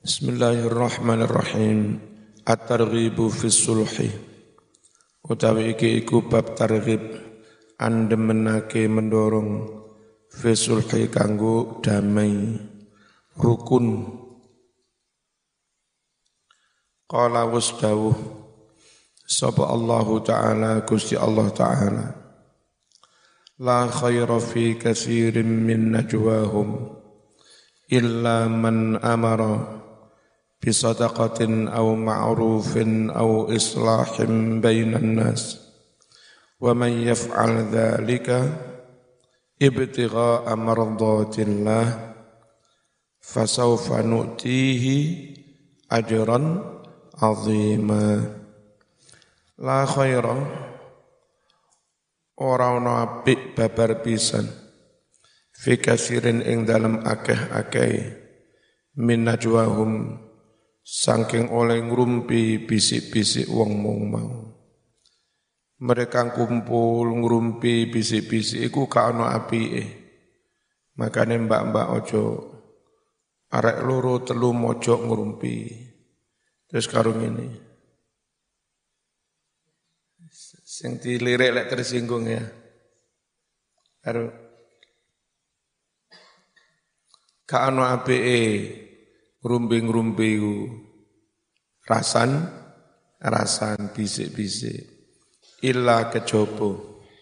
Bismillahirrahmanirrahim. At-targhibu fis sulhi. Utawi iki iku bab targhib andemenake mendorong fis sulhi kanggo damai rukun. Qala wasdawuh sapa Allah Ta'ala Gusti Allah Ta'ala. La khaira fi katsirin min najwahum illa man amara bisadaqatin aw ma'rufin aw islahin bainan nas wa man yaf'al dhalika ibtigha'a mardatillah fasawfa nu'tihi ajran 'azima. La khaira ora ana apik babar pisan fi kasirin ing dalem akeh-akeh min najwahum saking oleh ngrumpi bisik-bisik wong mau. Mereka kumpul ngrumpi bisik-bisik iku gak ana apike. Makane mbak-mbak ojo arek loro telu mojok ngrumpi. Terus karo ngene. Sing dilirik lek tersinggung ya. Karo gak ana apike ngrumpi-ngrumpi iku. Rasan bisik-bisik. Illa kejaba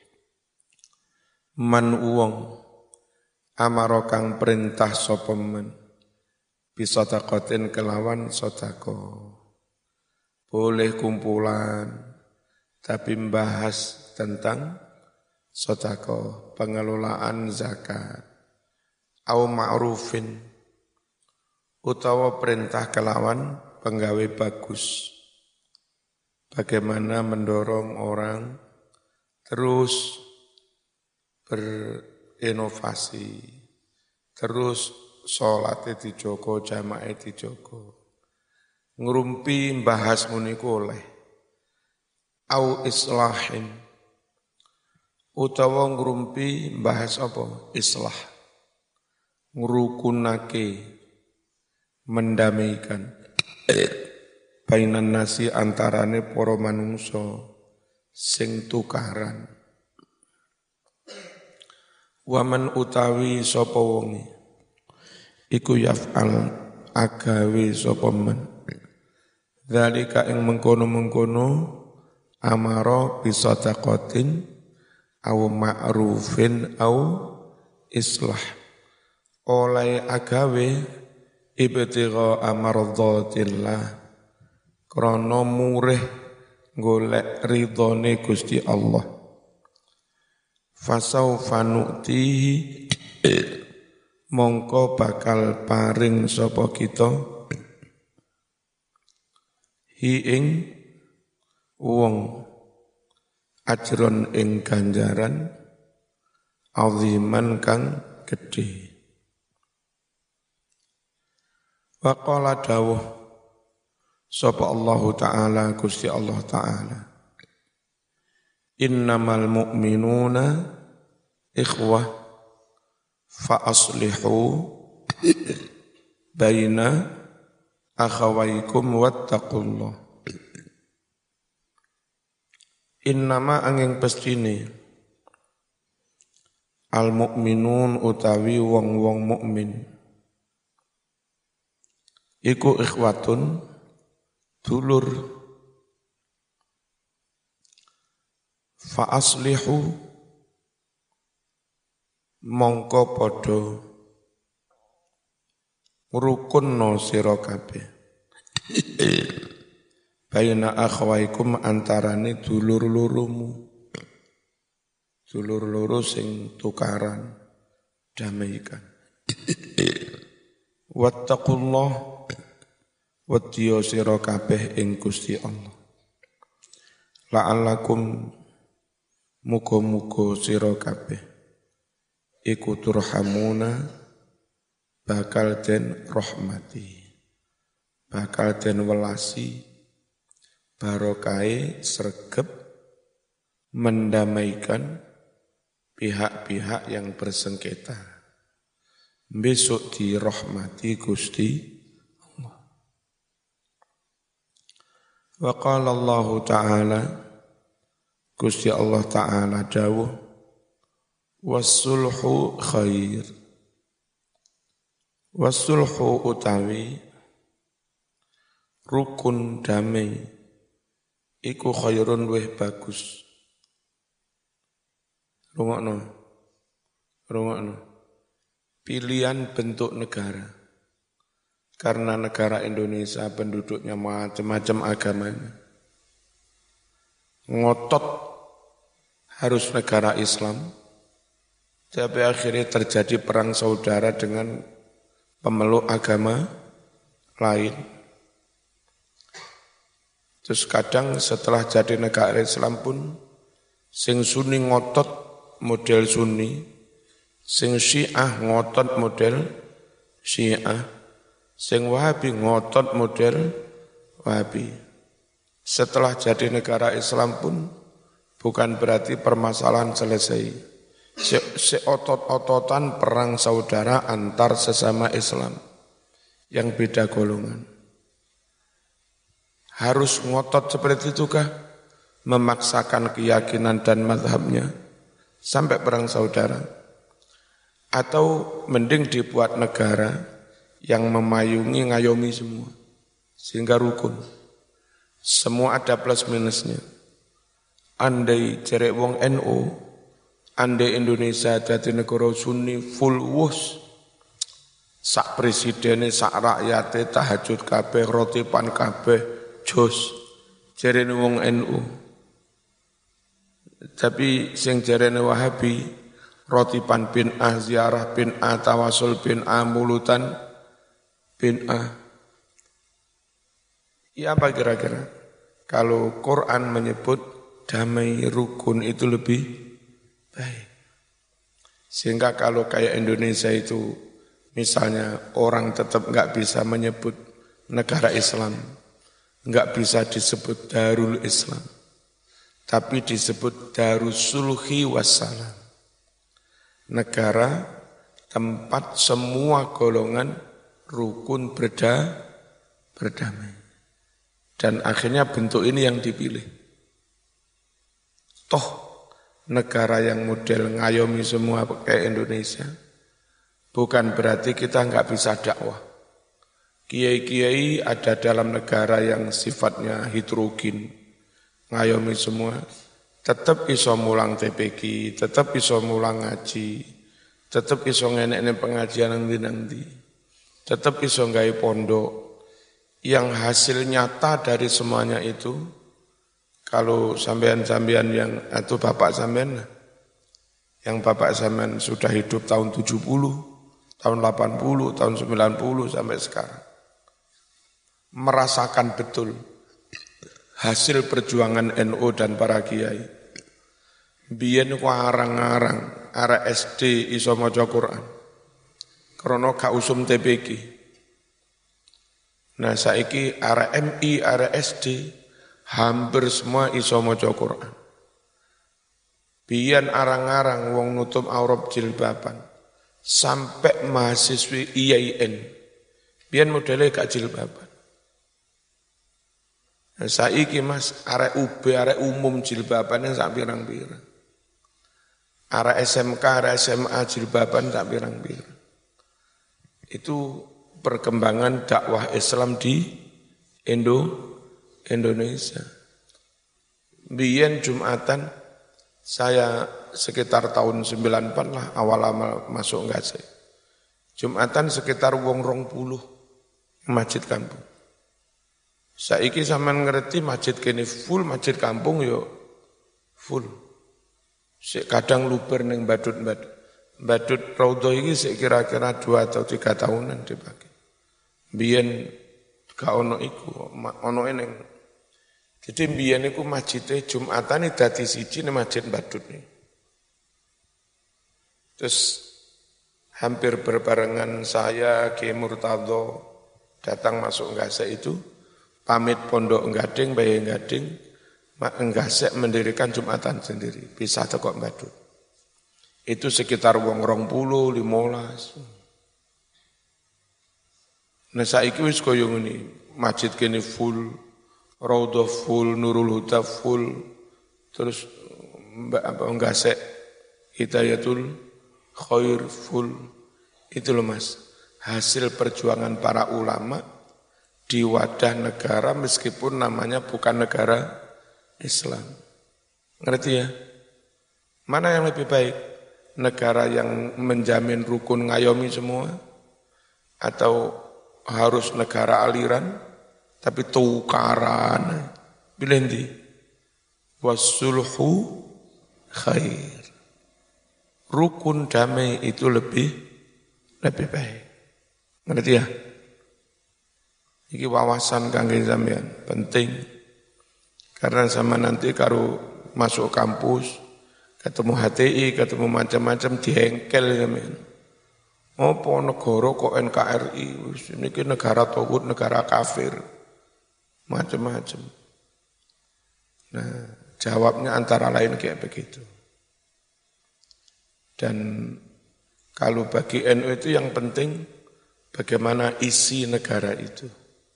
man wong amara kang perintah sapa men bisadaqatin kelawan sedekah. Boleh kumpulan tapi membahas tentang sedekah, pengelolaan zakat. Au ma'rufin utawa perintah kelawan penggawe bagus. Bagaimana mendorong orang terus berinovasi, terus sholatnya dijogo, jamaah dijogo. Ngrumpi mbahas muniku oleh. Au islahin utawa ngrumpi mbahas apa? Islah. Ngrukunake, mendamaikan bainan nasi antarane para manungsa sing tukaran. Waman utawi sapa wonge iku yaf'al agawe sapa men dzalika ing mengkono-mengkono amara bisadaqatin aw ma'rufin aw islah oleh agawe ibtigha amardhatillah krana murih golek ridhone Gusti Allah. Fasaufa nu'tihi mongko bakal paring sapa kita hi ing wong ajron ing ganjaran aziman kang gedhe. Wa qala dawuh sapa Allah Ta'ala Gusti Allah Ta'ala. Innamal mu'minuna ikhwah fa aslihu baina akhawaykum wattaqullah. Innama angin pestine al mu'minun utawi wong-wong mukmin iku ikhwatun dulur fa aslihu mongko padha ngrukunna sira kabeh baina akhwaikum antarane dulur-lurumu dulur loro sing tukaran damaikan wattaqullah wadiya sira kabeh ing Gusti Allah. La'allakum muga-muga sira kabeh iku turhamuna bakal den rahmati, bakal den welasi barokahe sregep mendamaikan pihak-pihak yang bersengketa. Besok dirahmati Gusti Allah. Wa qala Allah Ta'ala, Gusti Allah Ta'ala dawuh, was-sulhu khair. Was-sulhu utawi rukun damai iku khairun weh bagus. Rungokno. Pilihan bentuk negara. Karena negara Indonesia penduduknya macam-macam agamanya. Ngotot harus negara Islam. Tapi akhirnya terjadi perang saudara dengan pemeluk agama lain. Terus kadang setelah jadi negara Islam pun, sing Sunni ngotot model Sunni, sing Syiah ngotot model Syiah, sing Wahabi ngotot model Wahabi. Setelah jadi negara Islam pun, bukan berarti permasalahan selesai. Seotot-ototan perang saudara antar sesama Islam yang beda golongan. Harus ngotot seperti itukah? Memaksakan keyakinan dan mazhabnya sampai perang saudara? Atau mending dibuat negara yang memayungi ngayomi semua sehingga rukun. Semua ada plus minusnya. Andai cerek wong NU, andai Indonesia jadi negara Sunni full wus, sak presiden, sak rakyate tahajud kabeh, rotipan kabeh, jos, jarene wong NU. Tapi sing jarene Wahabi, rotipan bin A, ziarah bin A, tawasul bin A, mulutan bin A. Ya apa kira-kira? Kalau Quran menyebut damai rukun itu lebih baik. Sehingga kalau kayak Indonesia itu, misalnya orang tetap nggak bisa menyebut negara Islam, nggak bisa disebut Darul Islam, tapi disebut Darussulhi Wassalam. Negara tempat semua golongan rukun berdamai. Dan akhirnya bentuk ini yang dipilih. Toh negara yang model ngayomi semua kayak Indonesia, bukan berarti kita nggak bisa dakwah. Kiai-kiai ada dalam negara yang sifatnya heterogen, ngayomi semua, tetap iso mulang TPQ, tetap iso mulang ngaji, tetap iso ngenek pengajian nanti, tetap iso nggawe pondok. Yang hasil nyata dari semuanya itu, kalau sampean-sampean yang atau bapak sampean, yang bapak sampean sudah hidup tahun 70, tahun 80, tahun 90 sampai sekarang, merasakan betul hasil perjuangan NU dan para kiai. Biyen ku arang-arang, arek SD iso maca Quran. Krana gak usum TPQ. Nah saiki arek MI, arek SD hampir semua iso maca Quran. Biyen arang-arang wong nutup aurat jilbaban sampai mahasiswi IAIN. Biyen modele gak jilbaban. Nah, saiki Mas arek UB, arek umum jilbabannya sak pirang-pirang. Arek SMK, arek SMA jilbaban sak pirang-pirang. Itu perkembangan dakwah Islam di Indonesia. Biyen Jumatan, saya sekitar tahun 94 lah, awal-awal masuk Nggase. Jumatan sekitar wong 20 masjid kampung. Saiki sampean ngerti masjid kene full, masjid kampung yo full. Kadang luber ning badut raudhah iki sik kira-kira 2 atau 3 tahunan dipakai. Biyen gak ono iku, ono ning. Jadi biyen iku masjide Jumatan dadi siji ning masjid badut nih. Terus hampir berbarengan saya Ki Murtadho datang masuk Nggase itu, pamit pondok Nggading, Bayi Nggading, Nggase mendirikan Jumatan sendiri, pisah teko badut. Itu sekitar wong 20, 15. Nah saiki wis koyo ngene, masjid kene full, Raudhah full, Nurul Huda full, terus Ngasek Hidayatul Khair full. Itu loh Mas, hasil perjuangan para ulama di wadah negara meskipun namanya bukan negara Islam. Ngerti ya? Mana yang lebih baik? Negara yang menjamin rukun ngayomi semua? Atau harus negara aliran tapi tukaran? Pilih nanti. Wassulhu khair. Rukun damai itu lebih baik. Ngerti ya? Iki wawasan kangge sampean penting. Karena sama nanti kalau masuk kampus, ketemu HTI, ketemu macam-macam dihengkel sampean. Apa negara kok NKRI? Ini negara tauhid, negara kafir. Macam-macam. Nah, jawabnya antara lain kayak begitu. Dan kalau bagi NU itu yang penting bagaimana isi negara itu.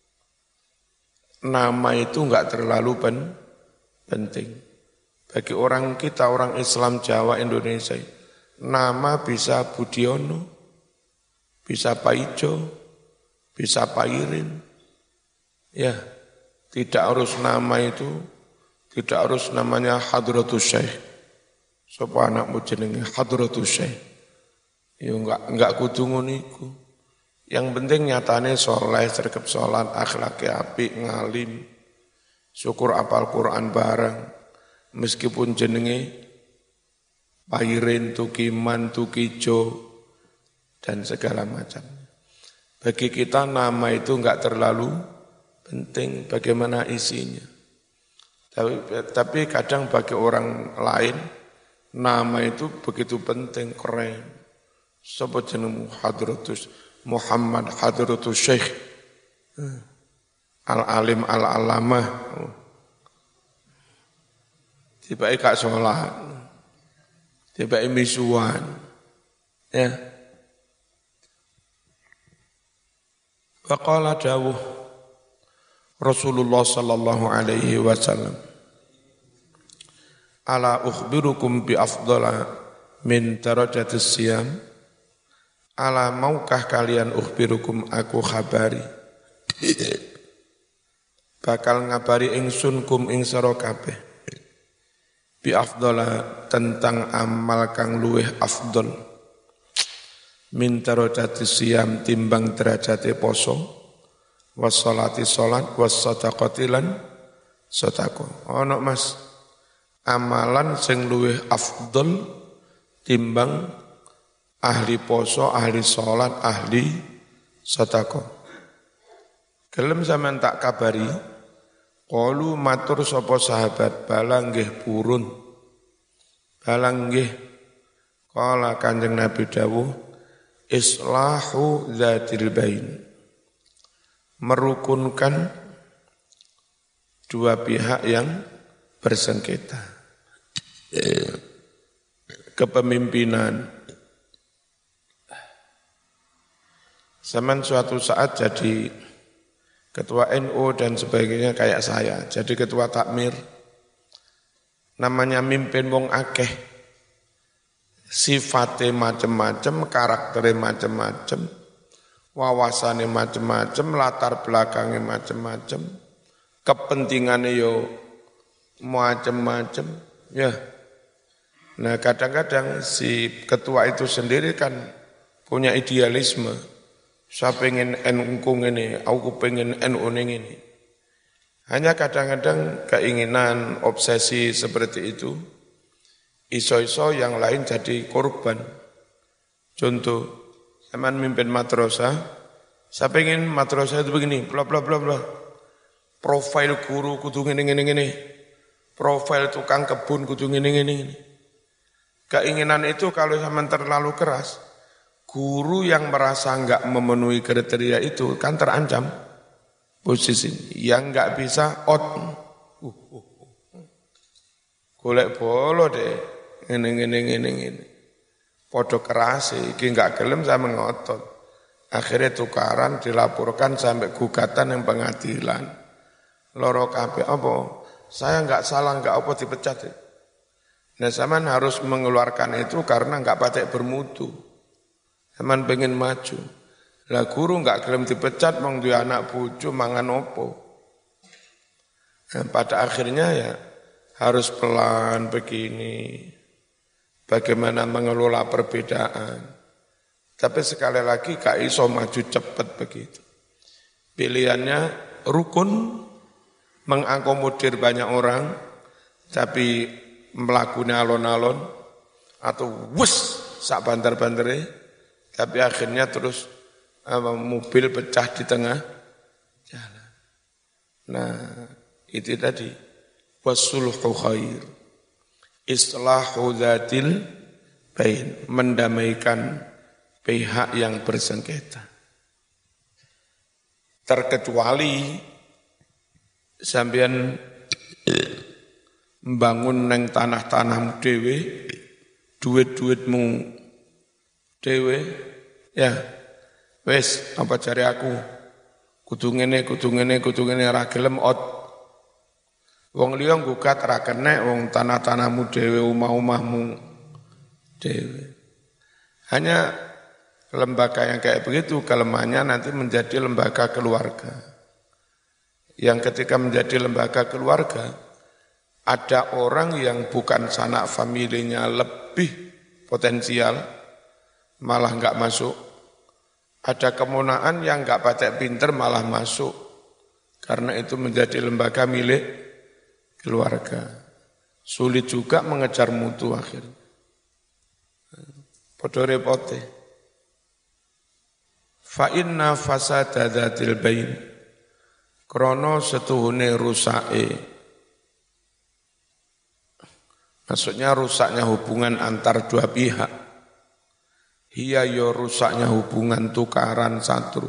Nama itu enggak terlalu penting. Bagi orang kita, orang Islam Jawa Indonesia, nama bisa Budiono, bisa Paijo, bisa Pairin. Ya, tidak harus nama itu, tidak harus namanya Hadratus Syekh. Sapa anakmu jenenge Hadratus Syekh. Ya enggak kudu ngono iku. Yang penting nyatane soleh, sergap sholat, akhlaknya apik, ngalim, syukur apal Quran bareng, meskipun jenenge Pairin, Tukiman, Tukijo, dan segala macam. Bagi kita nama itu enggak terlalu penting bagaimana isinya. Tapi kadang bagi orang lain, nama itu begitu penting, keren. Sapa jenengmu Hadratus Muhammad Hadratus Syekh Al-Alim Al-Alamah. Tiba-tiba kak sholat, tiba-tiba misuan. Ya. Waqala dawuh Rasulullah sallallahu alaihi wasallam, ala ukhbirukum bi afdala min darajatis siyam. Ala maukah kalian ukhbirukum aku khabari bakal ngabari ingsun kum ing sira kabeh bi afdala tentang amal kang luweh afdol min darajatis siyam timbang derajate poso was sholati salat was sadaqati lan sedekah. Ono Mas amalan sing luweh afdol timbang ahli poso, ahli sholat, ahli sedekah. Gelem sampean tak kabari, qalu matur sapa sahabat, bala nggih purun. Bala nggih. Qala Kanjeng Nabi dawuh, islahu dzatil bain. Merukunkan dua pihak yang bersengketa. Kepemimpinan. Zaman suatu saat jadi ketua NU dan sebagainya kayak saya, jadi ketua takmir. Namanya mimpin wong akeh. Sifatnya macam-macam, karakternya macam-macam, wawasannya macam-macam, latar belakangnya macam-macam, kepentingannya yo macam-macam. Ya. Nah kadang-kadang si ketua itu sendiri kan punya idealisme. Saya pengen NU ini, aku pengen NU ini. Hanya kadang-kadang keinginan, obsesi seperti itu, iso-iso yang lain jadi korban. Contoh, saya mimpin madrasah, saya pengen madrasah itu begini, bla bla bla bla. Profil guru kudu ngene. Profil tukang kebun kudu ngene. Keinginan itu kalau sama terlalu keras, guru yang merasa enggak memenuhi kriteria itu kan terancam posisi yang enggak bisa golek bolo deh ngene. Podo keras iki enggak gelem sama ngotot. Akhirnya tukaran dilaporkan sampai gugatan yang pengadilan. loro kabeh apa? Saya enggak salah, enggak apa dipecat. Nah, sampean harus mengeluarkan itu karena enggak patek bermutu. Sampean pengen maju. Lah guru enggak gelem dipecat mong duwe anak bojo mangan opo. Nah, pada akhirnya ya harus pelan begini. Bagaimana mengelola perbedaan. Tapi sekali lagi gak iso maju cepat begitu. Pilihannya rukun, mengakomodir banyak orang, tapi melakukan alon-alon, atau wus sak banter-bantere, tapi akhirnya terus mobil pecah di tengah jalan. Nah, itu tadi wasulhu khair, islahu dzatil bain, mendamaikan pihak yang bersengketa. Terkecuali sampean membangun neng tanah-tanahmu dhewe, duit-duitmu dhewe, ya wes apa cari aku, kudu ngene ra gelem out. Wong liya nggugat ra kenek, wong tanah-tanahmu dhewe, omah-omahmu dhewe. Hanya lembaga yang kayak begitu kelemahannya nanti menjadi lembaga keluarga. Yang ketika menjadi lembaga keluarga, ada orang yang bukan sanak familinya lebih potensial, malah enggak masuk. Ada kemonaan yang enggak patek pinter malah masuk. Karena itu menjadi lembaga milik keluarga. Sulit juga mengejar mutu akhirnya. Padha repote. Fa inna fasada dzatil bain. Krana setuhune rusake. Maksudnya rusaknya hubungan antar dua pihak. Hiya yo rusaknya hubungan tukaran satu.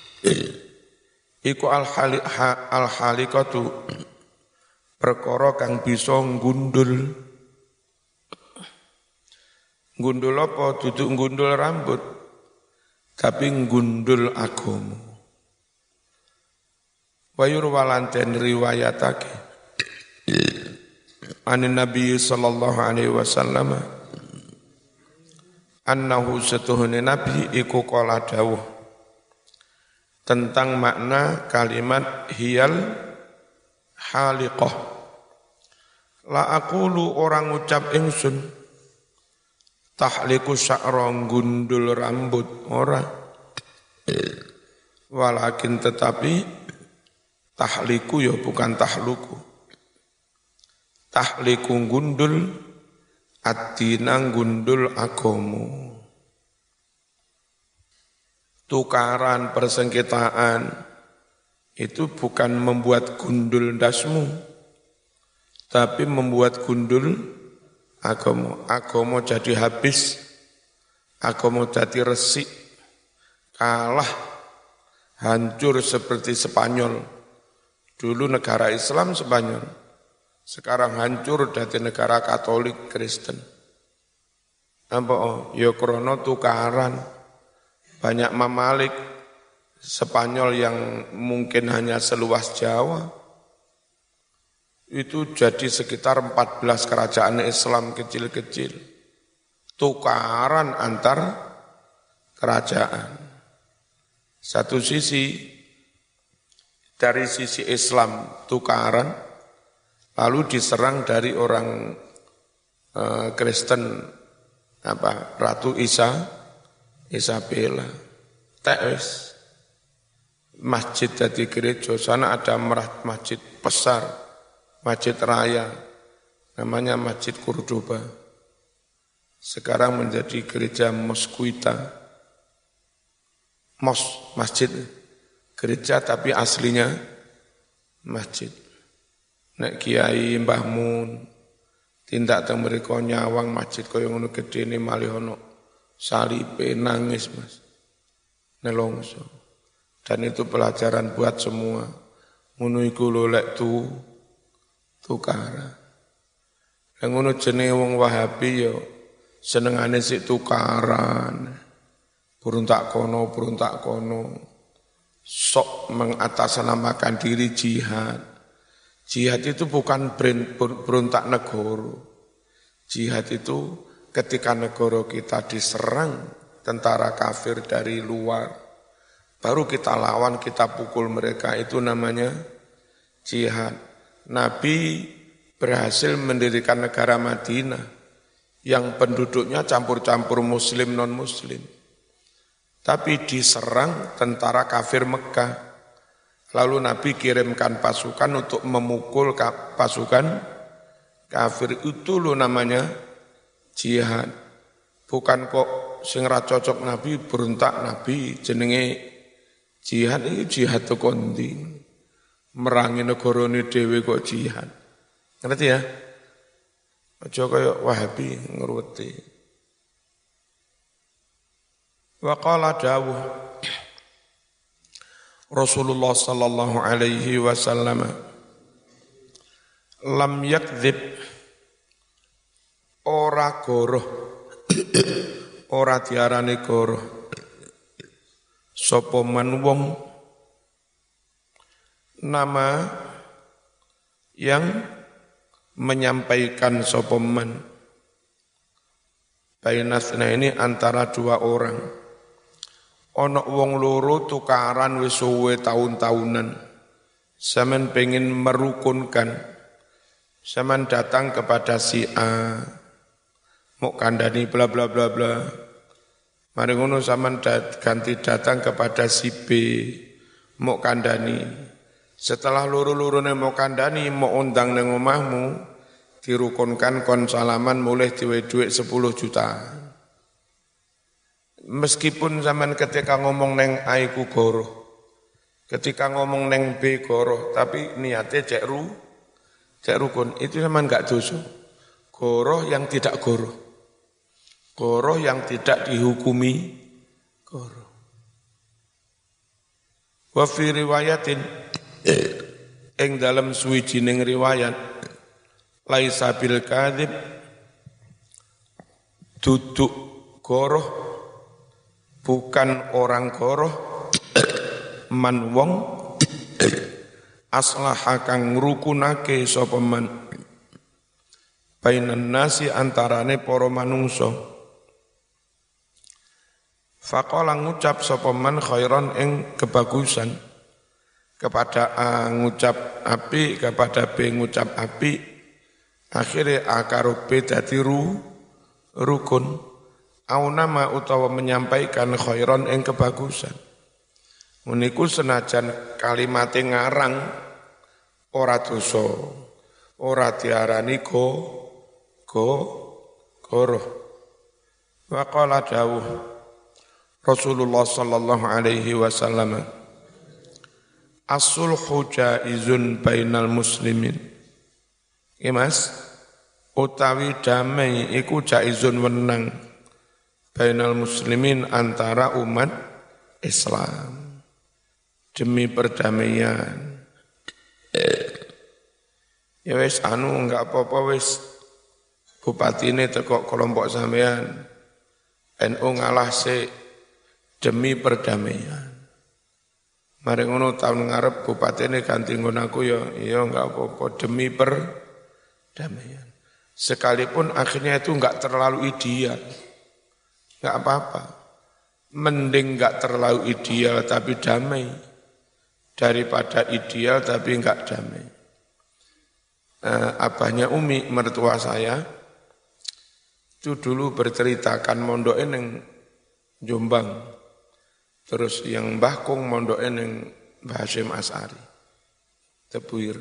Iku al-halikatu perkara kang bisa ngundul. Ngundul apa? Duduk ngundul rambut, tapi ngundul agama. Wayur walanten riwayatake anin Nabi sallallahu alaihi wasallam annahu satuhune Nabi iku qala dawuh tentang makna kalimat hiyal haliqah. La aqulu orang ucap ingsun tahliku sya'ra gundul rambut ora. Walakin tetapi tahliku ya bukan tahluku. Tahliku gundul addina gundul agomo. Tukaran persengketaan itu bukan membuat gundul dasmu, tapi membuat gundul agama jadi habis, agama jadi resik, kalah, hancur seperti Spanyol. Dulu negara Islam Spanyol, sekarang hancur jadi negara Katolik Kristen. Apa? Ya krono tukaran, banyak mamalik Spanyol yang mungkin hanya seluas Jawa, itu jadi sekitar 14 kerajaan Islam kecil-kecil. Tukaran antar kerajaan. Satu sisi, dari sisi Islam tukaran, lalu diserang dari orang Kristen, Ratu Isabella. Tes masjid jadi gereja, sana ada masjid besar. Masjid Raya, namanya Masjid Cordoba. Sekarang menjadi gereja Mosquita. Masjid, gereja tapi aslinya masjid. Nek Kiai Mbah Mun, tindak teng mriko nyawang masjid kaya ngono gedene malih ono salipe nangis Mas. Nelongso. Dan itu pelajaran buat semua. Ngono iku lho lek tukaran. Yang ngono jenenge wong Wahabi yo senengane sik tukaran. Burung tak kono. Sok mengatasnamakan diri jihad. Jihad itu bukan berontak negara. Jihad itu ketika negara kita diserang tentara kafir dari luar, baru kita lawan, kita pukul mereka, itu namanya jihad. Nabi berhasil mendirikan negara Madinah yang penduduknya campur-campur muslim non-muslim. Tapi diserang tentara kafir Mekah. Lalu Nabi kirimkan pasukan untuk memukul pasukan kafir. Itu loh namanya jihad. Bukan kok sing ra cocok Nabi berontak Nabi jenenge jihad. Ini jihad to kondi. Merangi negarane dhewe kok jihad. Ngerti ya? Aja kaya Wahabi ngruweti. Wa qala dawuh Rasulullah sallallahu alaihi wasallam, lam yakdzib, ora goroh, ora diarani goroh sapa man wong nama yang menyampaikan sapa man bainasna ini antara dua orang. Ono wong loro tukaran wis suwe tahun-tahunan. Sampeyan pengen merukunkan. Sampeyan datang kepada si A, mau kandhani bla bla bla bla. Mari ngono sampeyan ganti datang kepada si B, mau kandhani. Setelah loro-lorone mau kandhani, mau undang nang omahmu, dirukunkan kon salaman mulih diwe dhuwit 10 juta. Meskipun zaman ketika ngomong neng A iku goroh, ketika ngomong neng B goroh, tapi niatnya cek rukun, itu zaman enggak dosa. Goroh yang tidak goroh, goroh yang tidak dihukumi goroh. Wa fi riwayatin, ing dalam suwijining riwayat, laisa bil kadzib, duduk goroh, bukan orang goroh, man wong aslaha kang ngrukunake sapa man bainan nasi antarane para manungsa. Faqala ngucap sapa man khairan ing kebagusan, kepada A ngucap api, kepada B ngucap api, akhirnya A karo B dadi rukun. Au nama utawa menyampaikan khairon ing kebagusan. Uniku senajan kalimate ngarang ora dosa, ora diarani goroh. Wa qala dawuh Rasulullah sallallahu alaihi wasallam, as-sulhu jaizun bainal muslimin. Mas, utawi damai iku jaizun wenang bainal muslimin antara umat Islam demi perdamaian. Ya wis enggak apa-apa wis bupatine teko kelompok sampean NU ngalah sik demi perdamaian. Mari ngono tahun ngarep bupatine ganti nggon aku ya enggak apa-apa demi perdamaian. Sekalipun akhirnya itu enggak terlalu ideal. Enggak apa-apa. Mending enggak terlalu ideal tapi damai daripada ideal tapi enggak damai. Abahnya Umi, mertua saya, itu dulu berceritakan mondoknya neng Jombang. Terus yang Mbah Kung mondoknya neng Mbah Hasyim As'ari. Tebuir.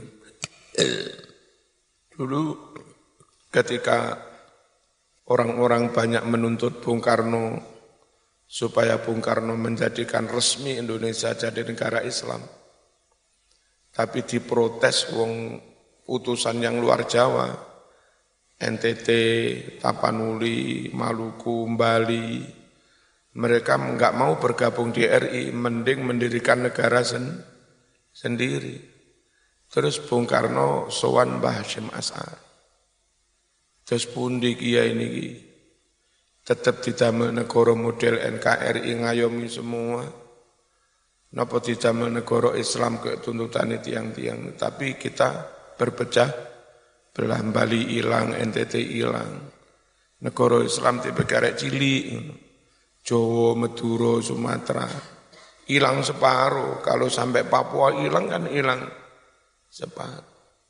Dulu ketika orang-orang banyak menuntut Bung Karno supaya Bung Karno menjadikan resmi Indonesia jadi negara Islam. Tapi diprotes wong utusan yang luar Jawa, NTT, Tapanuli, Maluku, Bali, mereka enggak mau bergabung di RI, mending mendirikan negara sendiri. Terus Bung Karno sowan Mbah Hasyim As'ari. Terus pundi kiai niki tetap didamel negara model NKRI ngayomi semua. Napa didamel negara Islam ke tuntutan tiang-tiang, tapi kita berpecah belah, Bali hilang, NTT hilang. Negara Islam tipe karek cilik, Jawa, Madura, Sumatera hilang separuh. Kalau sampai Papua hilang kan hilang separuh.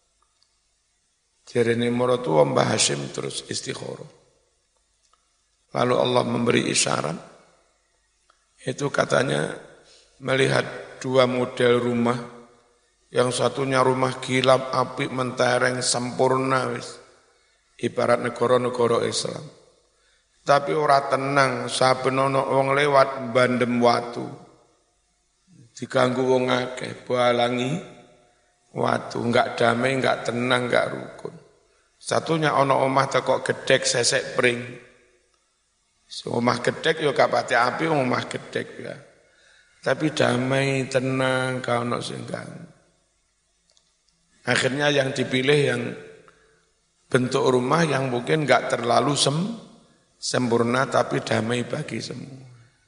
Jarene maratuwa Mbah Hashim terus istikharah. Lalu Allah memberi isyarat, itu katanya melihat dua model rumah, yang satunya rumah kilap, apik, mentereng, sempurna wis. Ibarat negara-negara Islam. Tapi ora tenang, saben ana wong lewat bandem watu. Diganggu wong akeh, balangi watu, enggak damai, enggak tenang, enggak rukun. Satunya ana omah tekok gedhek sesek pring. Omah gedhek ya gak pati api, omah gedhek ya. Tapi damai, tenang, gak ono sing ganggu. Akhirnya yang dipilih yang bentuk rumah yang mungkin enggak terlalu sempurna tapi damai bagi semua.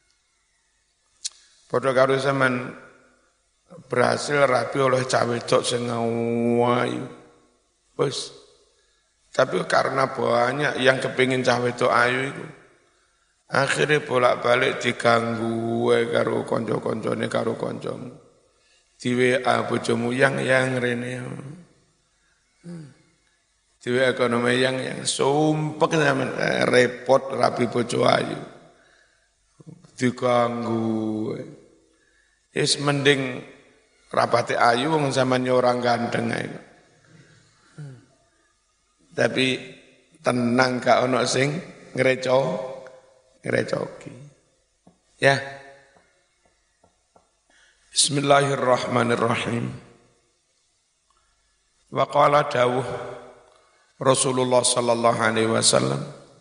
Padha karo zaman berhasil rapi oleh cah wedok sing ayu. Wis. Tapi karena banyak yang kepingin cah wedok ayu itu, akhirnya bolak-balik diganggu karo kanca-kancane karo kancamu. Di WA bojomu yang rene. Di WA ekonomi yang sumpek zaman repot rapi bojo ayu. Diganggu. Is mending rapati ayu wong zaman orang ganteng ae. Tapi tenang gak ono sing ngerecoki. Ya. Bismillahirrahmanirrahim. Wa qala dawuh Rasulullah sallallahu alaihi wasallam,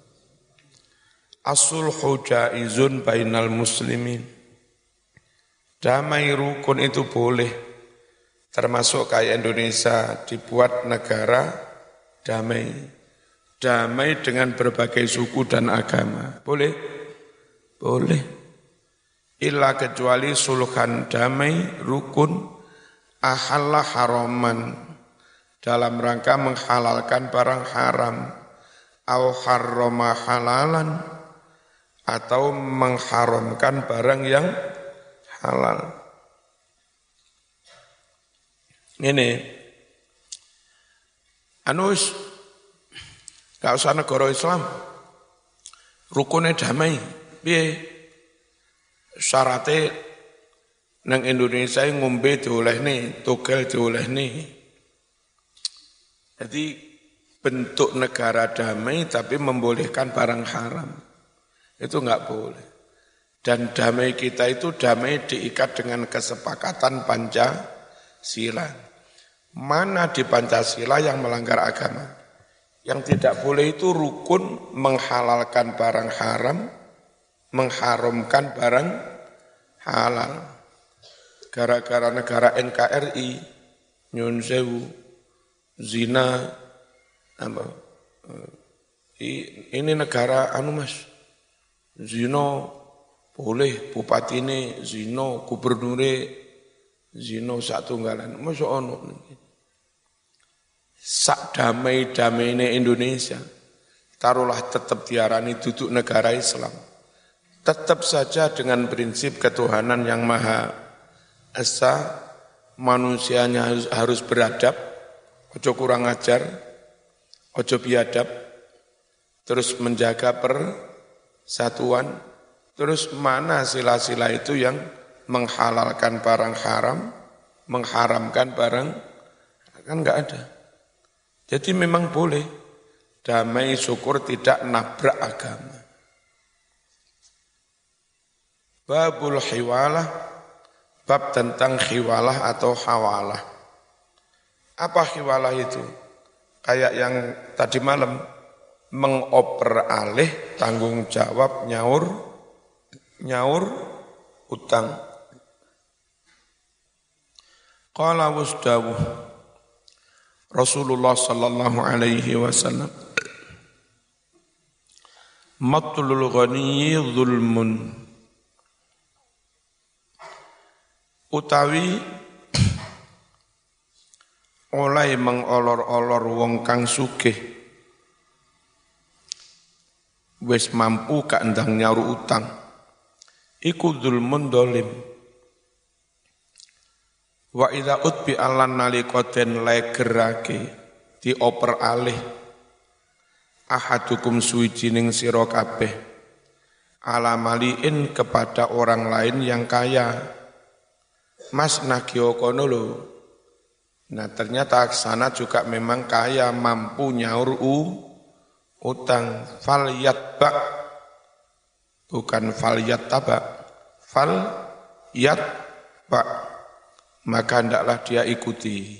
as-sulhu jaizun bainal muslimin. Damai rukun itu boleh, termasuk kayak Indonesia dibuat negara damai. Damai dengan berbagai suku dan agama. Boleh? Boleh. Illa kecuali sulhan damai, rukun, ahalla haraman, dalam rangka menghalalkan barang haram, au harrama halalan, atau mengharamkan barang yang halal. Ini anus gak usah negara Islam, rukunnya damai. Piye? Syaratnya nang Indonesia ngombe diolehne, togel diolehne. Jadi bentuk negara damai tapi membolehkan barang haram. Itu enggak boleh. Dan damai kita itu damai diikat dengan kesepakatan Pancasila. Mana di Pancasila yang melanggar agama? Yang tidak boleh itu rukun menghalalkan barang haram, mengharamkan barang halal. Gara-gara negara NKRI, nyun sewu, zina, apa? Ini negara mas, zina boleh, bupati ini zina, gubernure zina sak tunggalan, masa ono. Sak damai-damai ini Indonesia, taruhlah tetap diarani duduk negara Islam. Tetap saja dengan prinsip ketuhanan yang Maha Esa, manusianya harus beradab, ojo kurang ajar, ojo biadab, terus menjaga persatuan, terus mana sila-sila itu yang menghalalkan barang haram, mengharamkan barang, kan enggak ada. Jadi memang boleh, damai syukur tidak nabrak agama. Babul hiwalah, bab tentang hiwalah atau hawalah. Apa hiwalah itu? Kayak yang tadi malam, mengoper alih tanggung jawab nyaur utang. Qala wasdawuh Rasulullah sallallahu alaihi wasallam, matlul ghaniyyi zulmun, utawi oleh mengolor-olor wong kang sugih wis mampu gak ndang nyaur utang iku zulmun dolim. Wa idza utbi alan nalika den legerake dioper alih ahadukum suwijining sira kabeh ala maliin kepada orang lain yang kaya. Mas nagio kono lho. Nah ternyata sana juga memang kaya mampu nyaur utang. Fal yatba bukan fal yattaba. Fal yatba maka hendaklah dia ikuti.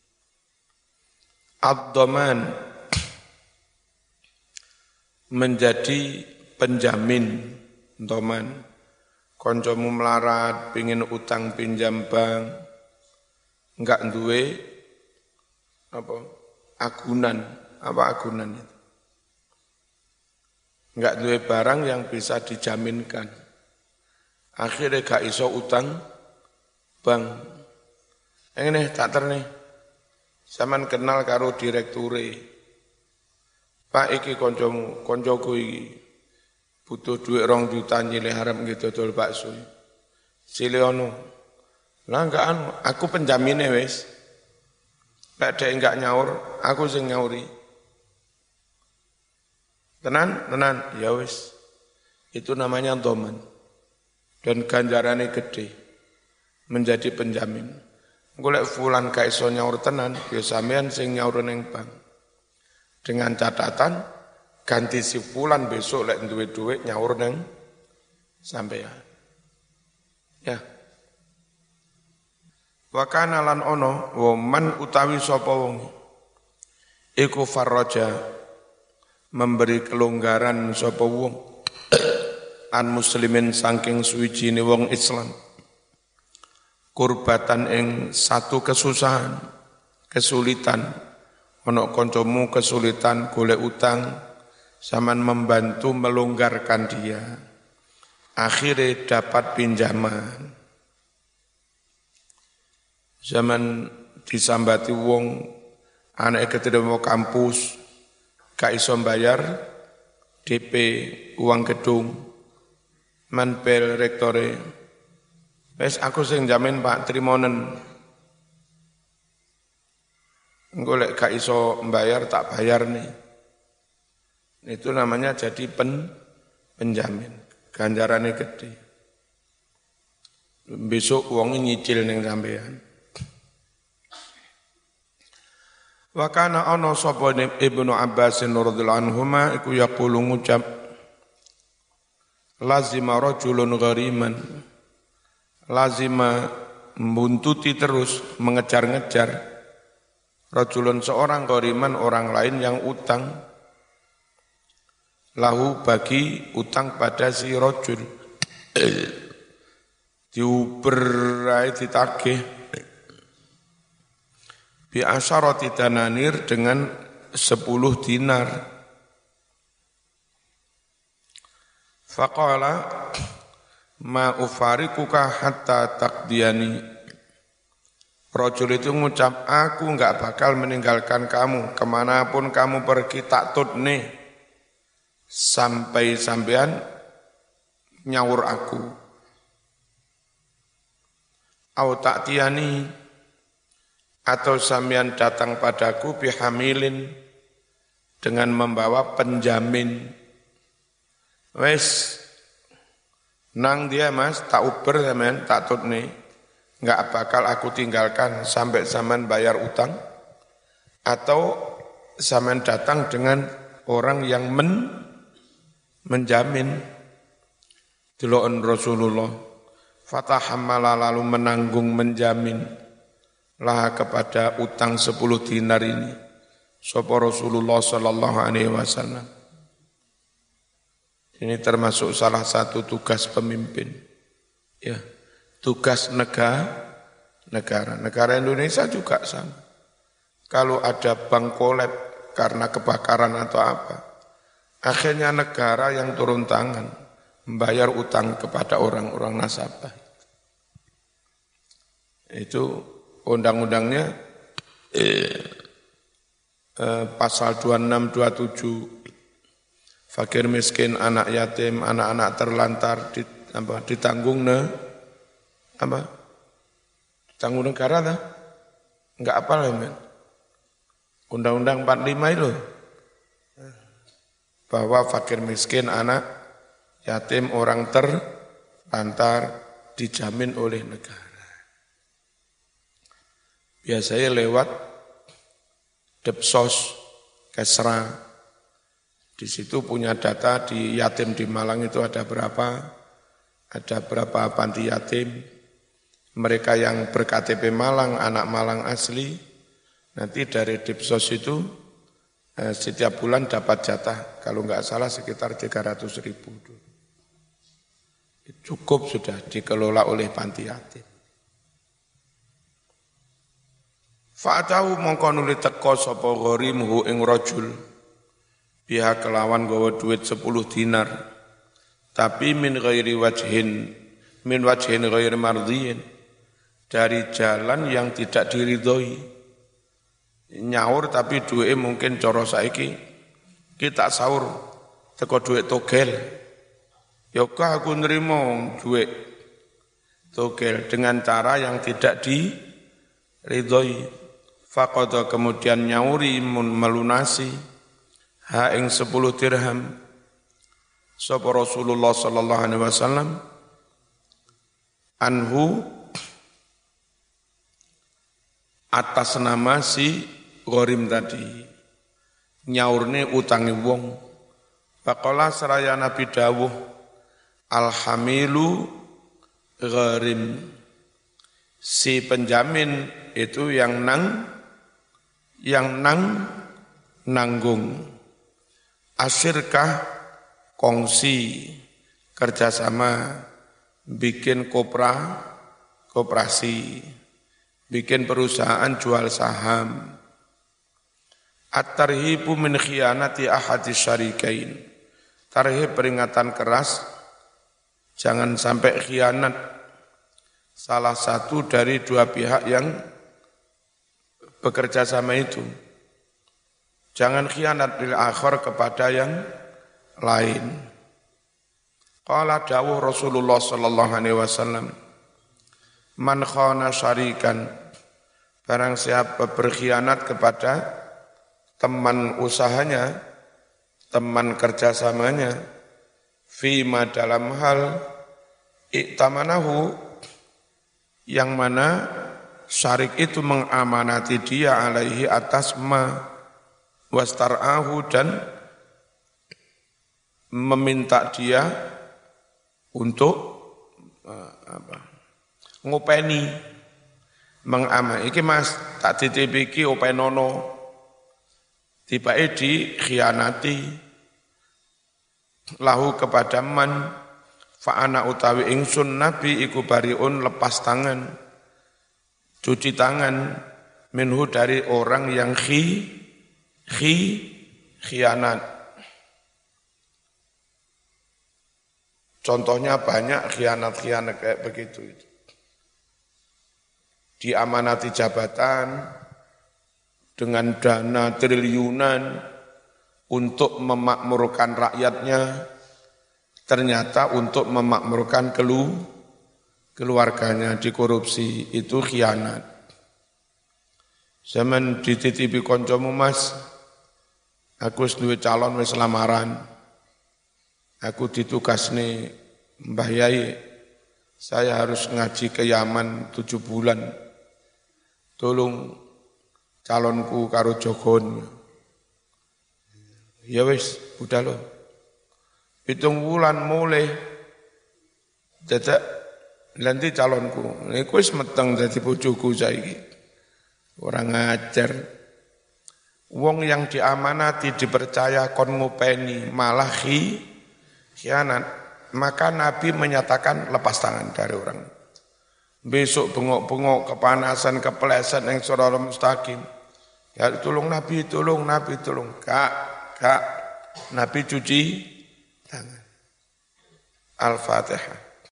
Ad-dhaman menjadi penjamin. Dhaman koncomu melarat pingin utang pinjam bank enggak duwe agunan itu enggak duwe barang yang bisa dijaminkan akhirnya gak iso utang bank. Ini tak ternih sampean kenal karo direkture Pak iki koncoku iki butuh duit 2 juta nyilih harap gitu dodol bakso. Siliono. Lah enggak aku penjamine wis. Lek dhek enggak nyaur, aku sing nyauri. Tenan, ya wis. Itu namanya dhaman. Dan ganjarane gede. Menjadi penjamin. Engko lek fulan gak iso nyaur tenan, ya sampean sing nyaur ning bank. Dengan catatan ganti si fulan besok lek duwe duit nyaur nang sampean. Ya. Wa kana lan ono wa man utawi sapa wong iku farraja memberi kelonggaran sapa wong an muslimin saking suwijine wong Islam kurbatan ing satu kesusahan, kesulitan ono kancamu kesulitan golek utang zaman membantu melonggarkan dia. Akhirnya dapat pinjaman. Zaman disambati wong anak keterima kampus gak iso bayar DP uang gedung manpel rektore. Wes aku sing jamin Pak trimonen. Engko lek gak iso mbayar tak bayar nih. Itu namanya jadi penjamin. Ganjarannya gede. Besok uangnya nyicil ning sampean. Wa kana ana sapa Ibnu Abbas radhiyallahu anhuma iku yaqulu ngucap lazima rajulun ghariman. Lazima membuntuti terus mengejar-ngejar rajulun seorang ghariman orang lain yang utang lahu bagi utang pada si rajul diuberai ditagih bi asyarati dananir dengan 10 dinar. Faqala ma ufariquka hatta taqdiyani. Rajul itu ngucap aku enggak bakal meninggalkan kamu kemanapun kamu pergi tak tutne sampai sampean nyaur aku. Au ta'tiyani atau sampean datang padaku bihamilin dengan membawa penjamin. Wes nang dia Mas tak uber sampean tak tutne. Enggak bakal aku tinggalkan sampai sampean bayar utang atau sampean datang dengan orang yang menjamin. Deloken Rasulullah fatahammala lalu menanggung menjamin lah kepada utang 10 dinar ini sapa Rasulullah sallallahu alaihi wasallam. Ini termasuk salah satu tugas pemimpin. Ya, tugas negara. Negara Indonesia juga sama. Kalau ada bank kolab karena kebakaran atau apa, akhirnya negara yang turun tangan membayar utang kepada orang-orang nasabah. Itu undang-undangnya pasal 26, 27, fakir miskin, anak yatim, anak-anak terlantar ditanggung tanggung negara dah? Enggak apa lah, men. Undang-Undang 45 itu bahwa fakir miskin, anak yatim, orang terlantar dijamin oleh negara. Biasanya lewat Depsos, Kesra. Di situ punya data di yatim di Malang itu ada berapa panti yatim. Mereka yang ber-KTP Malang, anak Malang asli, nanti dari Depsos itu setiap bulan dapat jatah, kalau enggak salah sekitar 300.000. Cukup sudah dikelola oleh panti yatim. Fa'atahu mongko nuli teka sapa gharimuhu ing rajul biha kelawan gawa duit 10 dinar tapi min wajhin ghairi mardhiyin, dari jalan yang tidak diridhoi. Nyaur tapi duitnya mungkin cara saiki kita sahur teko duit togel. Yokah aku nerima duit togel dengan cara yang tidak diridhoi. Faqadha kemudian nyauri melunasi ha ing 10 dirham sapa Rasulullah sallallahu alaihi wasallam anhu atas nama si gharim tadi, nyaurne utangi wong. Faqala seraya Nabi dawuh alhamilu gharim, si penjamin itu yang nanggung. Asyirkah kongsi, kerjasama, bikin koperasi, bikin perusahaan jual saham. At-tarhibu min khiyanati ahadis syarikain. Tarhib peringatan keras, jangan sampai khianat salah satu dari dua pihak yang bekerja sama itu. Jangan khianat bil akhir kepada yang lain. Qala dawuh Rasulullah sallallahu alaihi wasallam, man khana syarikan, barang siapa berkhianat kepada teman usahanya, teman kerjasamanya, fima dalam hal iktamanahu, yang mana syarik itu mengamanati dia alaihi atas wastar'ahu dan meminta dia untuk ngopeni, mengamai. Iki mas tak titip iki openono, tiba-tiba dikhianati lahu kepada man fa'ana utawi ingsun nabi iku bariun lepas tangan, cuci tangan minhu dari orang yang khianat. Contohnya banyak khianat-khianat kayak begitu itu. Diamanati jabatan dengan dana triliunan untuk memakmurkan rakyatnya, ternyata untuk memakmurkan keluarganya dikorupsi, itu khianat. Zaman dititipi koncomu mas, aku duwe calon wis lamaran, aku ditugasne Mbah Yai, saya harus ngaji ke Yaman 7 bulan, tolong calonku karo jogon. Ya wis, udah loh. 7 bulan mulai dadak nanti calonku. Iku wis meteng dadi bojoku saiki. Orang ngajar. Wong yang diamanati dipercaya kon ngopeni malah khianat, maka Nabi menyatakan lepas tangan dari orang. Besok bengok-bengok kepanasan kepleset yang sirata mustaqim. Ya tolong Nabi, tolong. Kak, Nabi cuci tangan. Al-Fatihah.